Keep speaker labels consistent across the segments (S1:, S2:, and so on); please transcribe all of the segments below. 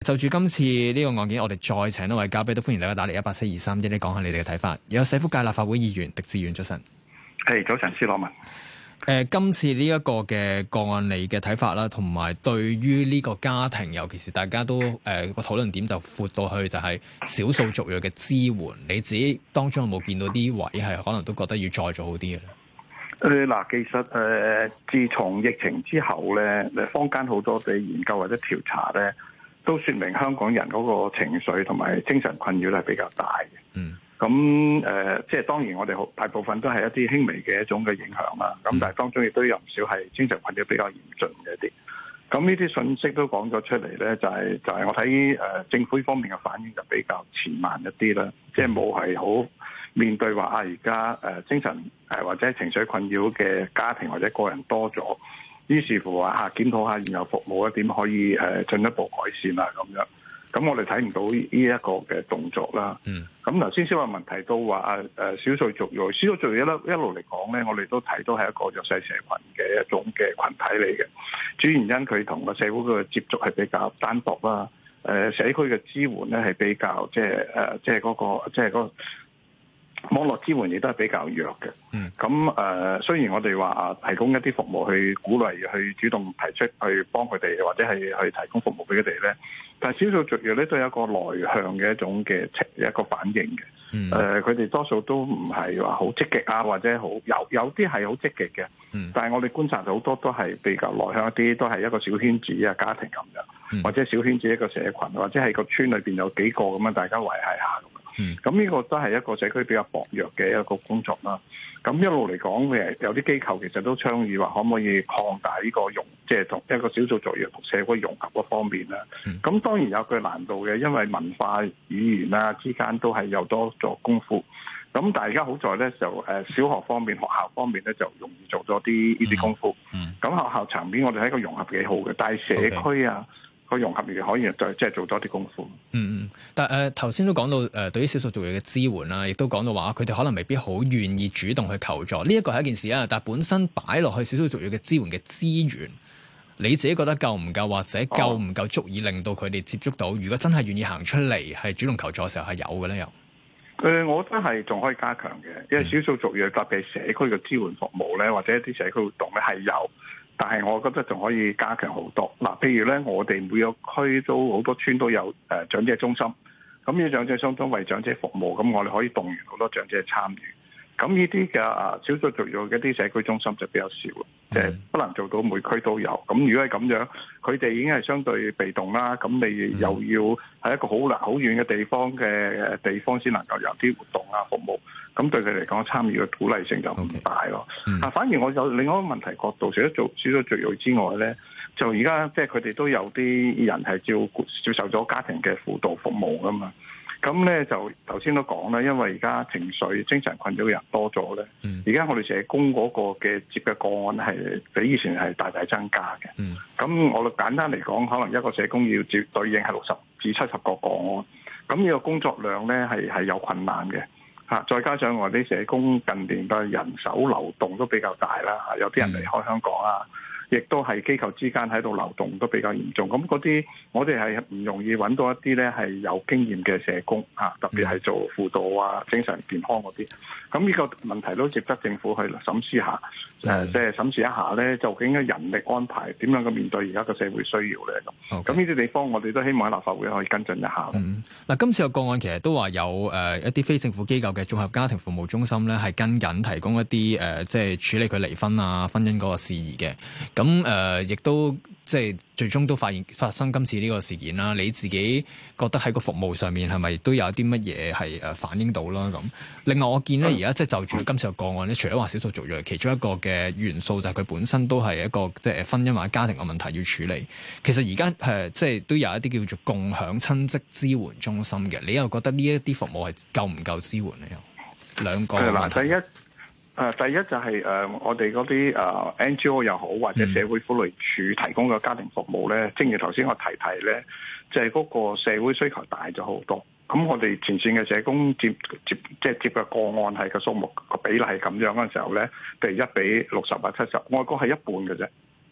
S1: 就住今次呢個案件，我哋再請一位嘉賓，都歡迎大家打嚟18723，一講下你哋嘅睇法。有社福界立法會議員狄志遠，早晨。
S2: 係早晨，施羅文。
S1: 今次呢一個嘅個案，你嘅睇法啦，同埋對於呢個家庭，尤其是大家都個討論點就闊到去就係少數族裔嘅支援，你自己當中有冇見到啲位係可能都覺得要再做好啲嘅咧？
S2: 嗱，其實自從疫情之後咧，坊間好多嘅研究或者調查咧，都說明香港人嗰個情緒同埋精神困擾係比較大嘅。
S1: 嗯。
S2: 咁即係當然我哋大部分都係一啲輕微嘅一種嘅影響啦。咁但係當中亦都有唔少係精神困擾比較嚴峻嘅一啲。咁呢啲信息都講咗出嚟咧，就係我睇政府呢方面嘅反應就比較遲慢一啲啦。即係冇係好面對話而家精神或者情緒困擾嘅家庭或者個人多咗，於是乎話檢討下現有服務點可以進一步改善啦咁樣。咁我哋睇唔到呢一個嘅動作啦。咁頭先小文提到話少數族裔一路嚟講咧，我哋都睇到係一個弱勢社群嘅一種嘅群體嚟嘅。主要原因佢同個社會嘅接觸係比較單薄啦。社區嘅支援咧係比較即係嗰個網絡支援亦都係比較弱嘅。咁雖然我哋話提供一啲服務去鼓勵去主動提出去幫佢哋，或者係去提供服務俾佢哋咧，但係少數族裔咧都有一個內向嘅一種嘅一個反應嘅。佢哋多數都唔係話好積極啊，或者好有啲係好積極嘅。但係我哋觀察到好多都係比較內向一啲，都係一個小圈子啊家庭咁樣，或者小圈子一個社群，或者係個村裏邊有幾個咁樣大家維繫下咁。咁呢個都係一個社區比較薄弱嘅一個工作啦。咁一路嚟講，有啲機構其實都倡議話，可唔可以擴大呢個即係同一個少數族裔同社會融合嗰方面啦。咁當然有佢難度嘅，因為文化語言啊之間都係有多做功夫。咁但係而家好在咧，就小學方面、學校方面咧就容易做咗啲呢啲功夫。咁學校層面我哋喺個融合幾好嘅，但係社區啊。個融合亦可以即係做多啲功夫。
S1: 但係頭先都講到對於少數族裔嘅支援啦，亦都講到話佢哋可能未必好願意主動去求助，呢一個係一件事啊。但係本身擺落去少數族裔嘅支援嘅資源，你自己覺得夠唔夠，或者夠唔夠足以令到佢哋接觸到？如果真係願意行出嚟係主動求助嘅時候係有嘅咧，又
S2: 我覺得係仲可以加強嘅，因為少數族裔特別係社區嘅支援服務咧，或者一啲社區活動咧係有。但係我覺得仲可以加強好多。嗱，譬如咧，我哋每個區都好多村都有長者中心，咁呢長者中心為長者服務，咁我哋可以動員好多長者參與。咁呢啲嘅少數族裔嘅一啲社區中心就比較少，即係不能做到每區都有。咁如果係咁樣，佢哋已經係相對被動啦。咁你又要喺一個好遠嘅地方先能夠有啲活動啊服務。咁對佢嚟講，參與嘅鼓勵性就唔大咯。反而我有另外一個問題角度，除咗做少數族裔之外咧，就而家即係佢哋都有啲人係接受咗家庭嘅輔導服務噶嘛。咁咧就頭先都講啦，因為而家情緒精神困擾嘅人多咗咧，而家我哋社工嗰個嘅接嘅個案係比以前係大大增加嘅。咁我哋簡單嚟講，可能一個社工要接對應係60至70個個案，咁呢個工作量咧係有困難嘅。再加上我哋社工近年嘅人手流動都比較大啦，有啲人離開香港啊。亦都係機構之間喺度流動都比較嚴重，咁嗰啲我哋係唔容易揾到一啲咧係有經驗嘅社工特別係做輔導啊、精神健康嗰啲。咁呢個問題都值得政府去審視下，即係審視一下咧，究竟嘅人力安排點樣去面對而家嘅社會需要咧咁。咁呢啲地方我哋都希望喺立法會可以跟進一下。
S1: 嗱，今次個案其實都話有一啲非政府機構嘅綜合家庭服務中心咧，係跟緊提供一啲即係處理佢離婚啊、婚姻嗰個事宜嘅。咁亦都即係最終都發生今次呢個事件啦。你自己覺得喺個服務上面係咪都有啲乜嘢係反映到啦？咁另外我見咧而家即係就住今次個案咧，除咗話少數族裔，其中一個嘅元素就係佢本身都係一個即係婚姻或者家庭嘅問題要處理。其實而家即係都有一啲叫做共享親職支援中心嘅，你又覺得呢一啲服務係夠唔夠支援咧？兩個問題。
S2: 第一就係我哋嗰啲NGO 又好，或者社會福利署提供嘅家庭服務咧，正如頭先我提咧，就係嗰個社會需求大咗好多。咁我哋前線嘅社工接嘅個案係個數目個比例係咁樣嘅時候咧，譬如1比60或70，外國係一半嘅啫。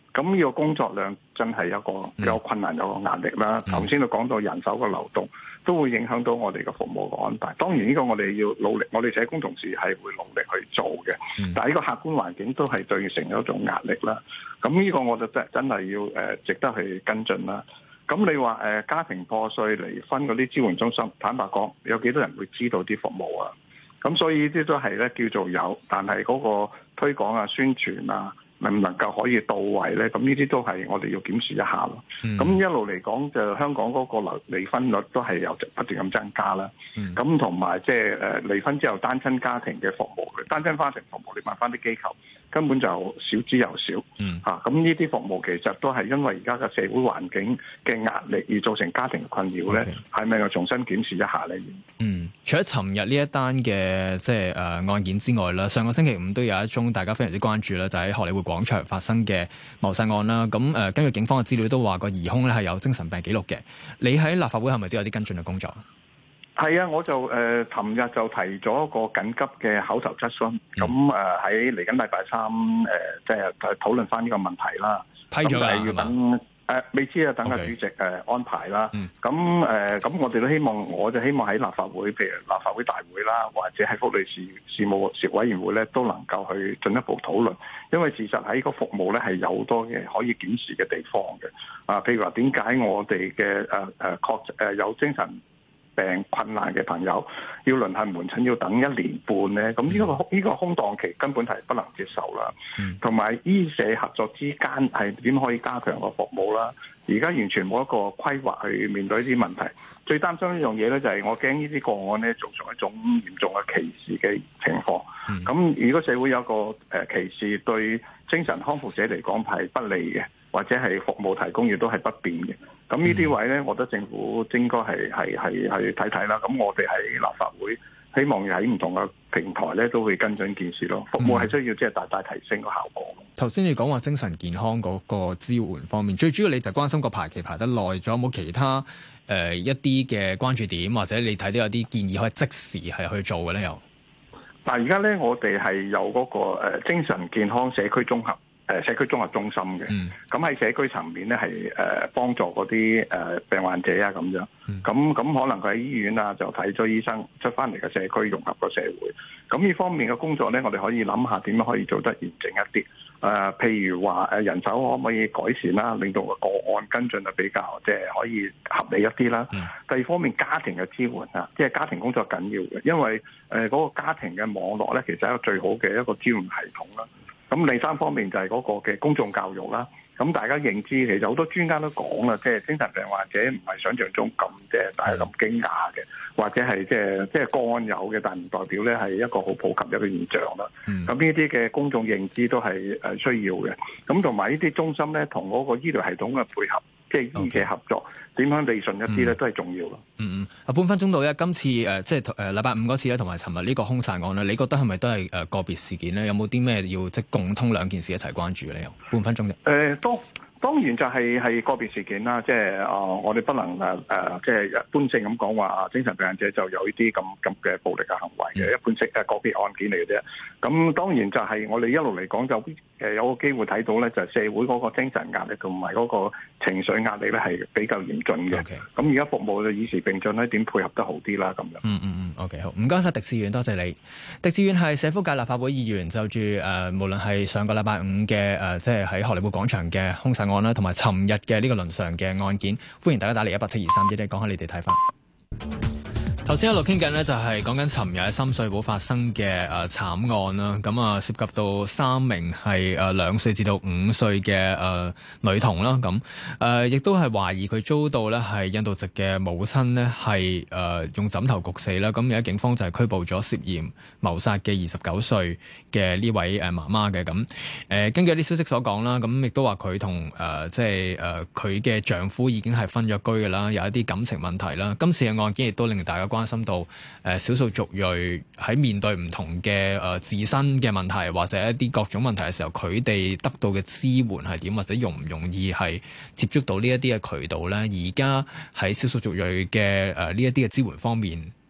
S2: 咁呢個工作量真係有困難，有個壓力啦。頭先都講到人手嘅流動，都會影響到我哋嘅服務嘅安排。當然呢個我哋要努力，我哋社工同事係會努力去做嘅。但係呢個客觀環境都係造成一種壓力啦。咁呢個我就真係要值得去跟進啦。咁你話家庭破碎、離婚嗰啲支援中心，坦白講，有幾多人會知道啲服務啊？咁所以呢啲都係咧叫做有，但係嗰個推廣啊、宣傳啊，能唔能夠可以到位咧？咁呢啲都係我哋要檢視一下咯。咁一路嚟講，就香港嗰個離婚率都係有不斷咁增加啦。咁同埋即係離婚之後單親家庭嘅服務，單親家庭服務你問翻啲機構，根本就少之又少。咁呢啲服務其實都係因為而家嘅社會環境嘅壓力而造成家庭困擾咧，係咪要重新檢視一下咧？
S1: 除咗尋日呢一單嘅即係案件之外啦，上個星期五都有一宗大家非常之關注啦，就喺荷里活廣場發生嘅謀殺案啦。咁根據警方嘅資料都話個疑兇咧係有精神病記錄嘅。你喺立法會係咪都有啲跟進嘅工作？
S2: 係啊，我就尋日就提咗一個緊急嘅口頭質詢，咁喺嚟緊禮拜三即係討論翻呢個問題啦。
S1: 批咗啦，
S2: 要等未知啊，等個主席安排啦。咁我哋都希望，我就希望喺立法會，譬如立法會大會啦，或者喺福利事務委員會咧，都能夠去進一步討論。因為事實喺個服務咧係有好多嘅可以檢視嘅地方嘅。譬如話點解我哋嘅有精神病困難嘅朋友要輪候門診要等1年半咧，咁呢個空檔期根本係不能接受啦。同埋醫社合作之間係點可以加強個服務啦？而家完全冇一個規劃去面對呢啲問題。最擔心一樣嘢咧，就係我驚呢啲個案咧造成一種嚴重嘅歧視嘅情況。咁如果社會有個歧視，對精神康復者嚟講係不利嘅，或者係服務提供亦都係不便嘅。咁呢啲位咧，我覺得政府應該係睇睇啦。咁我哋喺立法會，希望喺唔同嘅平台咧，都會跟進件事咯。服務係需要即係大大提升個效果。
S1: 頭先你講話精神健康嗰個支援方面，最主要你就關心個排期排得耐，仲有冇其他一啲嘅關注點，或者你睇到有啲建議可以即時係去做嘅咧？又
S2: 嗱，而家咧我哋係有嗰個精神健康社區綜合中心嘅，咁喺社區層面咧係幫助嗰啲病患者啊咁樣，咁可能佢喺醫院啊就睇咗醫生出翻嚟嘅社區融合個社會，咁呢方面嘅工作咧，我哋可以諗下點樣可以做得完整一啲。譬如話人手可唔可以改善啦，令到個案跟進就比較即係可以合理一啲啦。第二方面家庭嘅支援啊，即係家庭工作緊要嘅，因為嗰個家庭嘅網絡咧，其實係一個最好嘅一個支援系統啦。咁第三方面就係嗰個嘅公眾教育啦。咁大家認知，其實好多專家都講啦，即係精神病患者唔係想象中咁大家咁驚訝嘅，或者係即係個案有嘅，但唔代表咧係一個好普及一個現象啦。咁呢啲嘅公眾認知都係需要嘅。咁同埋呢啲中心咧，同嗰個醫療系統嘅配合，即係醫社合作，點樣理順一啲咧，都係重要咯。
S1: 半分鐘到咧，今次即係禮拜五嗰次咧，同埋尋日呢個兇殺案咧，你覺得係咪都係個別事件咧？有冇啲咩要即係共通兩件事一齊關注咧？半分鐘啫。當然就係個別事件啦，即係我哋不能即係一般性咁講話精神病患者就有呢啲咁嘅暴力嘅行為嘅，一般性個別案件嚟嘅啫。咁當然就係我哋一路嚟講就有個機會睇到咧，就係社會嗰個精神壓力同埋嗰個情緒壓力咧係比較嚴峻嘅。咁而家服務就與時並進咧，點配合得好啲啦咁樣。OK 好，唔該晒狄志遠，多謝你。狄志遠係社福界立法會議員，就住無論係上個禮拜五嘅即係喺荷里活廣場嘅兇殺案啦，同埋尋日嘅呢個倫常嘅案件，歡迎大家打嚟17231，講下你哋睇法。頭先一路傾緊呢，就係講緊尋日喺深水埗發生嘅慘案啦。咁涉及到3名係2歲至到5歲嘅女童啦。咁亦都係懷疑佢遭到呢係印度籍嘅母親呢係用枕頭焗死啦。咁而家警方就係拘捕咗涉嫌謀殺嘅29歲嘅呢位媽媽嘅。咁根據啲消息所講啦，咁亦都話佢同即係佢嘅丈夫已經係分咗居㗎啦，有一啲感情問題啦。今次嘅案件亦都令大家關心到少數族裔喺面對唔同嘅自身嘅問題或者一啲各種問題嘅時候，佢哋得到嘅支援係點，或者容唔容易係接觸到呢一啲嘅渠道咧？而家喺少數族裔嘅呢一啲嘅支援方面，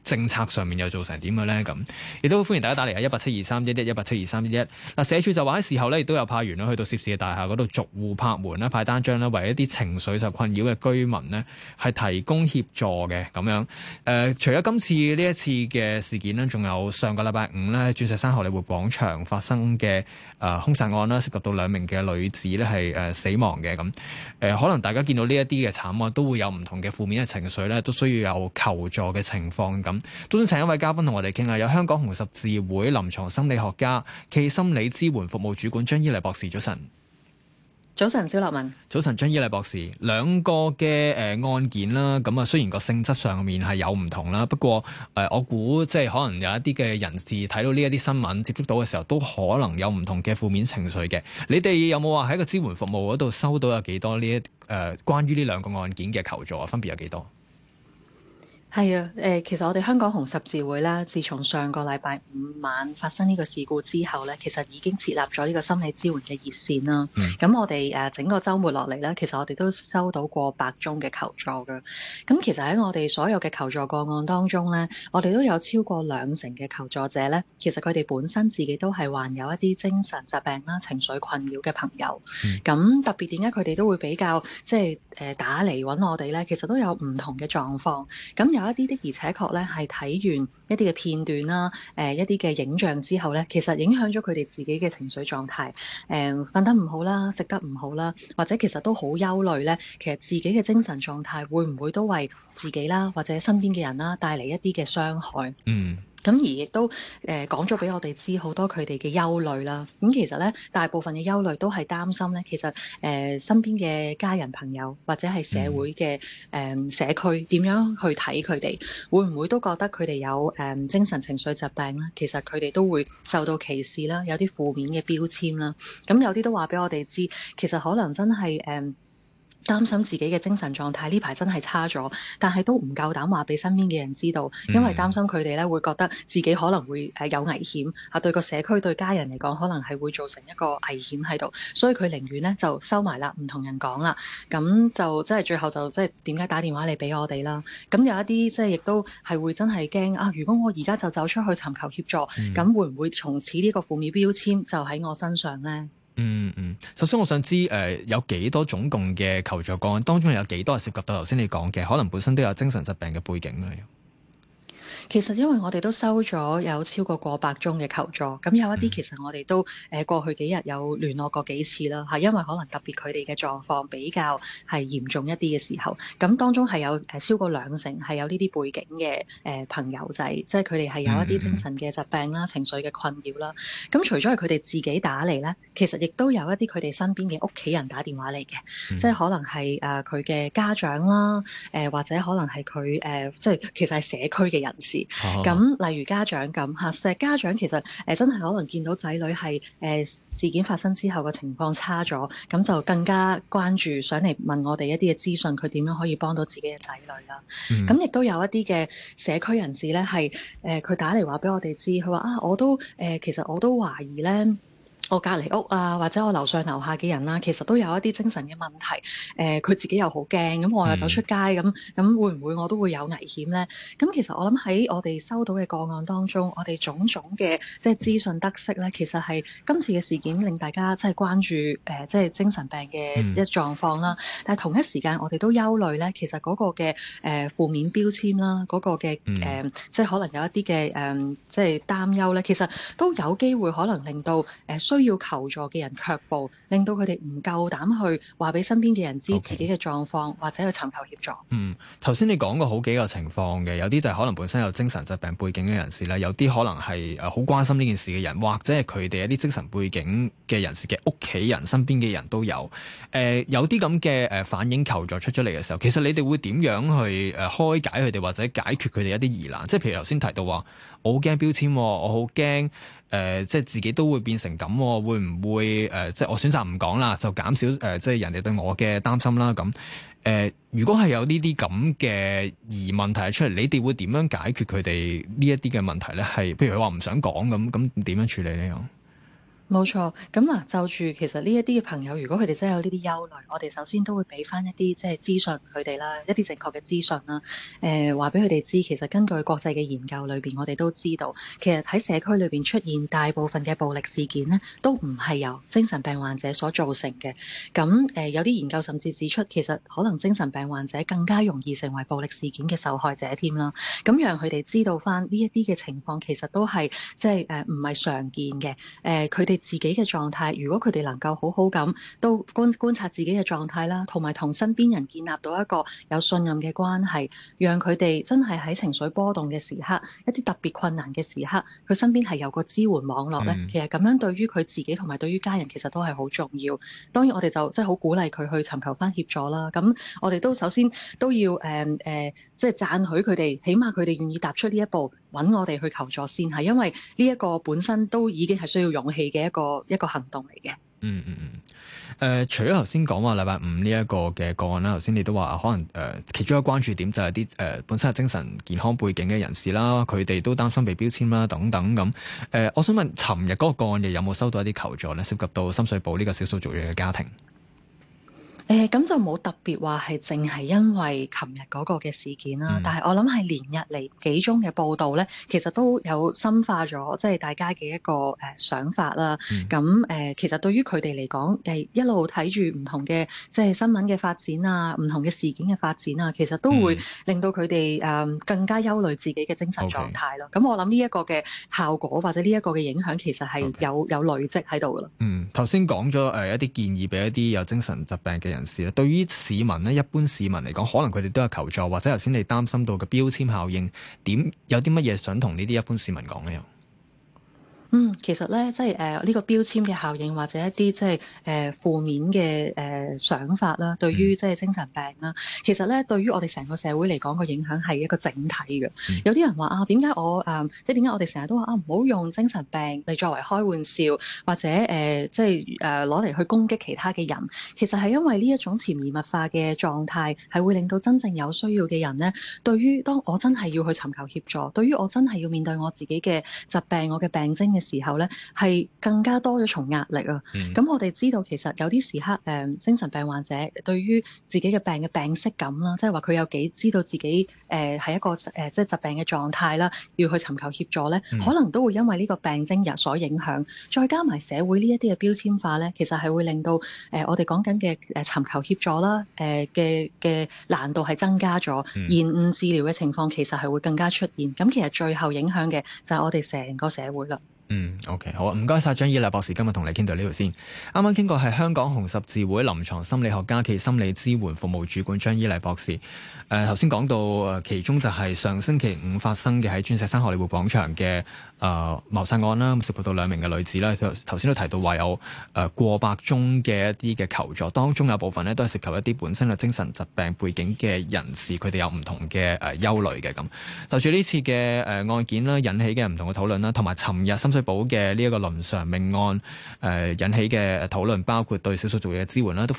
S1: 政策上面又做成點嘅咧？咁亦都歡迎大家打嚟1872311 1872311。嗱，社署就話喺事後咧，亦都有派員去到涉事嘅大廈嗰度逐戶拍門啦，派單張啦，為一啲情緒受困擾嘅居民呢係提供協助嘅咁樣。除咗今次呢一次嘅事件呢，仲有上個禮拜五咧，鑽石山荷里活廣場發生嘅兇殺案啦，涉及到2名嘅女子咧係死亡嘅咁。可能大家見到呢一啲嘅慘案，都會有唔同嘅負面嘅情緒咧，都需要有求助嘅情況咁。都想請一位嘉賓同我哋傾下，有香港紅十字會臨床心理學家暨心理支援服務主管張伊麗博士，早晨。
S3: 早晨，蕭立文。早
S1: 晨，張伊麗博士。兩個嘅案件啦，咁啊雖然個性質上面係有唔同啦，不過我估即係可能有一啲嘅人士睇到呢一啲新聞接觸到嘅時候，都可能有唔同嘅負面情緒嘅。你哋有冇話喺個支援服務嗰度收到有幾多呢一關於呢兩個案件嘅求助啊？分別有幾多？
S3: 係啊，其實我哋香港紅十字會咧，自從上個禮拜五晚發生呢個事故之後咧，其實已經設立咗呢個心理支援嘅熱線啦。咁我哋整個週末落嚟咧，其實我哋都收到過100宗嘅求助嘅。咁其實喺我哋所有嘅求助個案當中咧，我哋都有超過20%嘅求助者咧，其實佢哋本身自己都係患有一啲精神疾病啦、情緒困擾嘅朋友。咁特別點解佢哋都會比較即係打嚟揾我哋咧？其實都有唔同嘅狀況。咁有一啲的而且確咧，係睇完一啲嘅片段啦，一啲嘅影像之後咧，其實影響咗佢哋自己嘅情緒狀態，瞓得唔好啦，食得唔好啦，或者其實都好憂慮咧。其實自己嘅精神狀態會唔會都為自己啦，或者身邊嘅人啦帶嚟一啲嘅傷害？咁而亦都講咗俾我哋知好多佢哋嘅憂慮啦。咁其實咧，大部分嘅憂慮都係擔心咧，其實身邊嘅家人朋友或者係社會嘅社區點樣去睇佢哋，會唔會都覺得佢哋有精神情緒疾病咧？其實佢哋都會受到歧視啦，有啲負面嘅標籤啦。咁有啲都話俾我哋知，其實可能真係擔心自己嘅精神狀態呢排真係差咗，但係都唔夠膽話俾身邊嘅人知道，因為擔心佢哋咧會覺得自己可能會有危險啊，對個社區對家人嚟講可能係會造成一個危險喺度，所以佢寧願咧就收埋啦，唔同人講啦。咁就即係最後就即係點解打電話嚟俾我哋啦？咁有一啲即係亦都係會真係驚啊！如果我而家就走出去尋求協助，咁會唔會從此呢個負面標籤就喺我身上咧？
S1: 首先我想知有幾多總共嘅求助個案，當中有幾多係涉及到頭先你講嘅，可能本身都有精神疾病嘅背景咧？
S3: 其實因為我哋都收咗有超過100宗嘅求助，咁有一啲其實我哋都過去幾日有聯絡過幾次啦，係因為可能特別佢哋嘅狀況比較係嚴重一啲嘅時候，咁當中係有超過20%係有呢啲背景嘅朋友仔，即係佢哋係有一啲精神嘅疾病啦、情緒嘅困擾啦。咁除咗係佢哋自己打嚟咧，其實亦都有一啲佢哋身邊嘅屋企人打電話嚟嘅，即係可能係佢嘅家長啦，或者可能係佢即係其實係社區嘅人士。咁例如家長咁嚇，家長其實真係可能見到仔女係事件發生之後嘅情況差咗，咁就更加關注，想嚟問我哋一啲嘅資訊，佢點樣可以幫到自己嘅仔女啦。咁亦都有一啲嘅社區人士咧，係佢打嚟話俾我哋知，佢話啊，我都其實我都懷疑咧。我隔離屋啊，或者我樓上樓下嘅人啦，其實都有一啲精神嘅問題。佢自己又好驚，咁我又走出街，咁會唔會我都會有危險咧？咁其實我諗喺我哋收到嘅個案當中，我哋種種嘅即係資訊得悉咧，其實係今次嘅事件令大家即係關注即係精神病嘅一狀況啦。但係同一時間，我哋都憂慮咧，其實嗰個嘅負面標籤啦，嗰個嘅即係可能有一啲嘅即係擔憂咧，其實都有機會可能令到需要求助嘅人卻步，令到佢哋唔夠膽去話俾身邊嘅人知自己嘅狀況，或者去尋求協助。
S1: 頭先你講過好幾個情況嘅，有啲就係可能本身有精神疾病背景嘅人士啦，有啲可能係好關心呢件事嘅人，或者係佢哋一啲精神背景嘅人士嘅屋企人、身邊嘅人都有。有啲咁嘅反映求助出咗嚟嘅時候，其實你哋會點樣去開解佢哋，或者解決佢哋一啲疑難？即係譬如頭先提到話，我好驚標籤，我好驚。即係自己都會變成咁，會唔會即係我選擇唔講啦，就減少即係人哋對我嘅擔心啦。咁如果係有呢啲咁嘅疑問提出嚟，你哋會點樣解決佢哋呢一啲嘅問題咧？係譬如佢話唔想講咁點樣處理呢？
S3: 冇錯，咁嗱就住其實呢一啲嘅朋友，如果佢哋真係有呢啲憂慮，我哋首先都會俾翻一啲即係資訊佢哋啦，一啲正確嘅資訊啦。話俾佢哋知，其實根據國際嘅研究裏邊，我哋都知道，其實喺社區裏邊出現大部分嘅暴力事件呢，都唔係由精神病患者所造成嘅。咁有啲研究甚至指出，其實可能精神病患者更加容易成為暴力事件嘅受害者添啦。咁讓佢哋知道翻呢一啲嘅情況，其實都係即係唔係常見嘅。佢哋自己嘅狀態，如果佢哋能夠好好咁都觀察自己嘅狀態啦，同埋同身邊人建立到一個有信任嘅關係，讓佢哋真係喺情緒波動嘅時刻，一啲特別困難嘅時刻，佢身邊係有個支援網絡咧。其實咁樣對於佢自己同埋對於家人其實都係好重要。當然我哋就即係好鼓勵佢去尋求翻協助啦。咁我哋都首先都要即係讚許佢哋，起碼佢哋願意踏出呢一步揾我哋去求助先，係因為呢一個本身都已經係需要勇氣嘅一個行動嚟嘅。
S1: 除咗頭先講話禮拜五呢一個嘅個案啦，頭先你都話可能其中一個關注點就係啲本身係精神健康背景嘅人士啦，佢哋都擔心被標籤啦等等咁。我想問，尋日嗰個個案又有冇收到一啲求助咧？涉及到深水埗呢個少數族裔嘅家庭。
S3: 咁就冇特別話係淨係因為琴日嗰個嘅事件啦，但係我諗係連日嚟幾宗嘅報道咧，其實都有深化咗即係大家嘅一個想法啦。咁其實對於佢哋嚟講，一路睇住唔同嘅即係新聞嘅發展啊，唔同嘅事件嘅發展啊，其實都會令到佢哋更加憂慮自己嘅精神狀態咯。咁我諗呢一個嘅效果或者呢一個嘅影響，其實係有累積喺度噶啦。
S1: 頭先講咗一啲建議俾一啲有精神疾病嘅人士咧，對於市民咧，一般市民嚟講，可能佢哋都有求助，或者頭先你擔心到嘅標籤效應，有啲乜嘢想同呢啲一般市民講咧？
S3: 其實咧，即係呢個標籤嘅效應，或者一啲即係負面嘅想法啦，對於即係精神病啦，其實咧對於我哋成個社會嚟講，個影響係一個整體嘅。有啲人話啊，點解我即係點解我哋成日都話啊，唔好用精神病嚟作為開玩笑，或者即係攞嚟去攻擊其他嘅人。其實係因為呢一種潛移默化嘅狀態，係會令到真正有需要嘅人咧，對於當我真係要去尋求協助，對於我真係要面對我自己嘅疾病、我嘅病徵嘅時候咧，係更加多咗重壓力啊！咁我哋知道其實有啲時刻精神病患者對於自己嘅病嘅病識感啦，即係話佢有幾知道自己係一個即係疾病嘅狀態啦，要去尋求協助咧，可能都會因為呢個病徵所影響，再加埋社會呢一啲嘅標籤化咧，其實係會令到我哋講緊嘅尋求協助啦嘅難度係增加咗，延誤治療嘅情況其實係會更加出現。咁其實最後影響嘅就係我哋成個社會啦。
S1: OK， 好啊，唔該晒張依麗博士，今日同你傾到呢度先。啱啱傾過係香港紅十字會臨床心理學家暨心理支援服務主管張依麗博士。頭先講到其中就係上星期五發生嘅喺鑽石山荷里活廣場嘅謀殺案啦，涉及到2名嘅女子啦。頭先都提到話有過百宗嘅一啲嘅求助，當中有部分咧都係涉及一啲本身有精神疾病背景嘅人士，佢哋有唔同嘅憂慮嘅咁。就住呢次嘅案件啦，引起嘅唔同嘅討論啦，同埋尋日深水埗嘅呢一個倫常命案引起嘅討論，包括對少數族裔嘅支援啦，都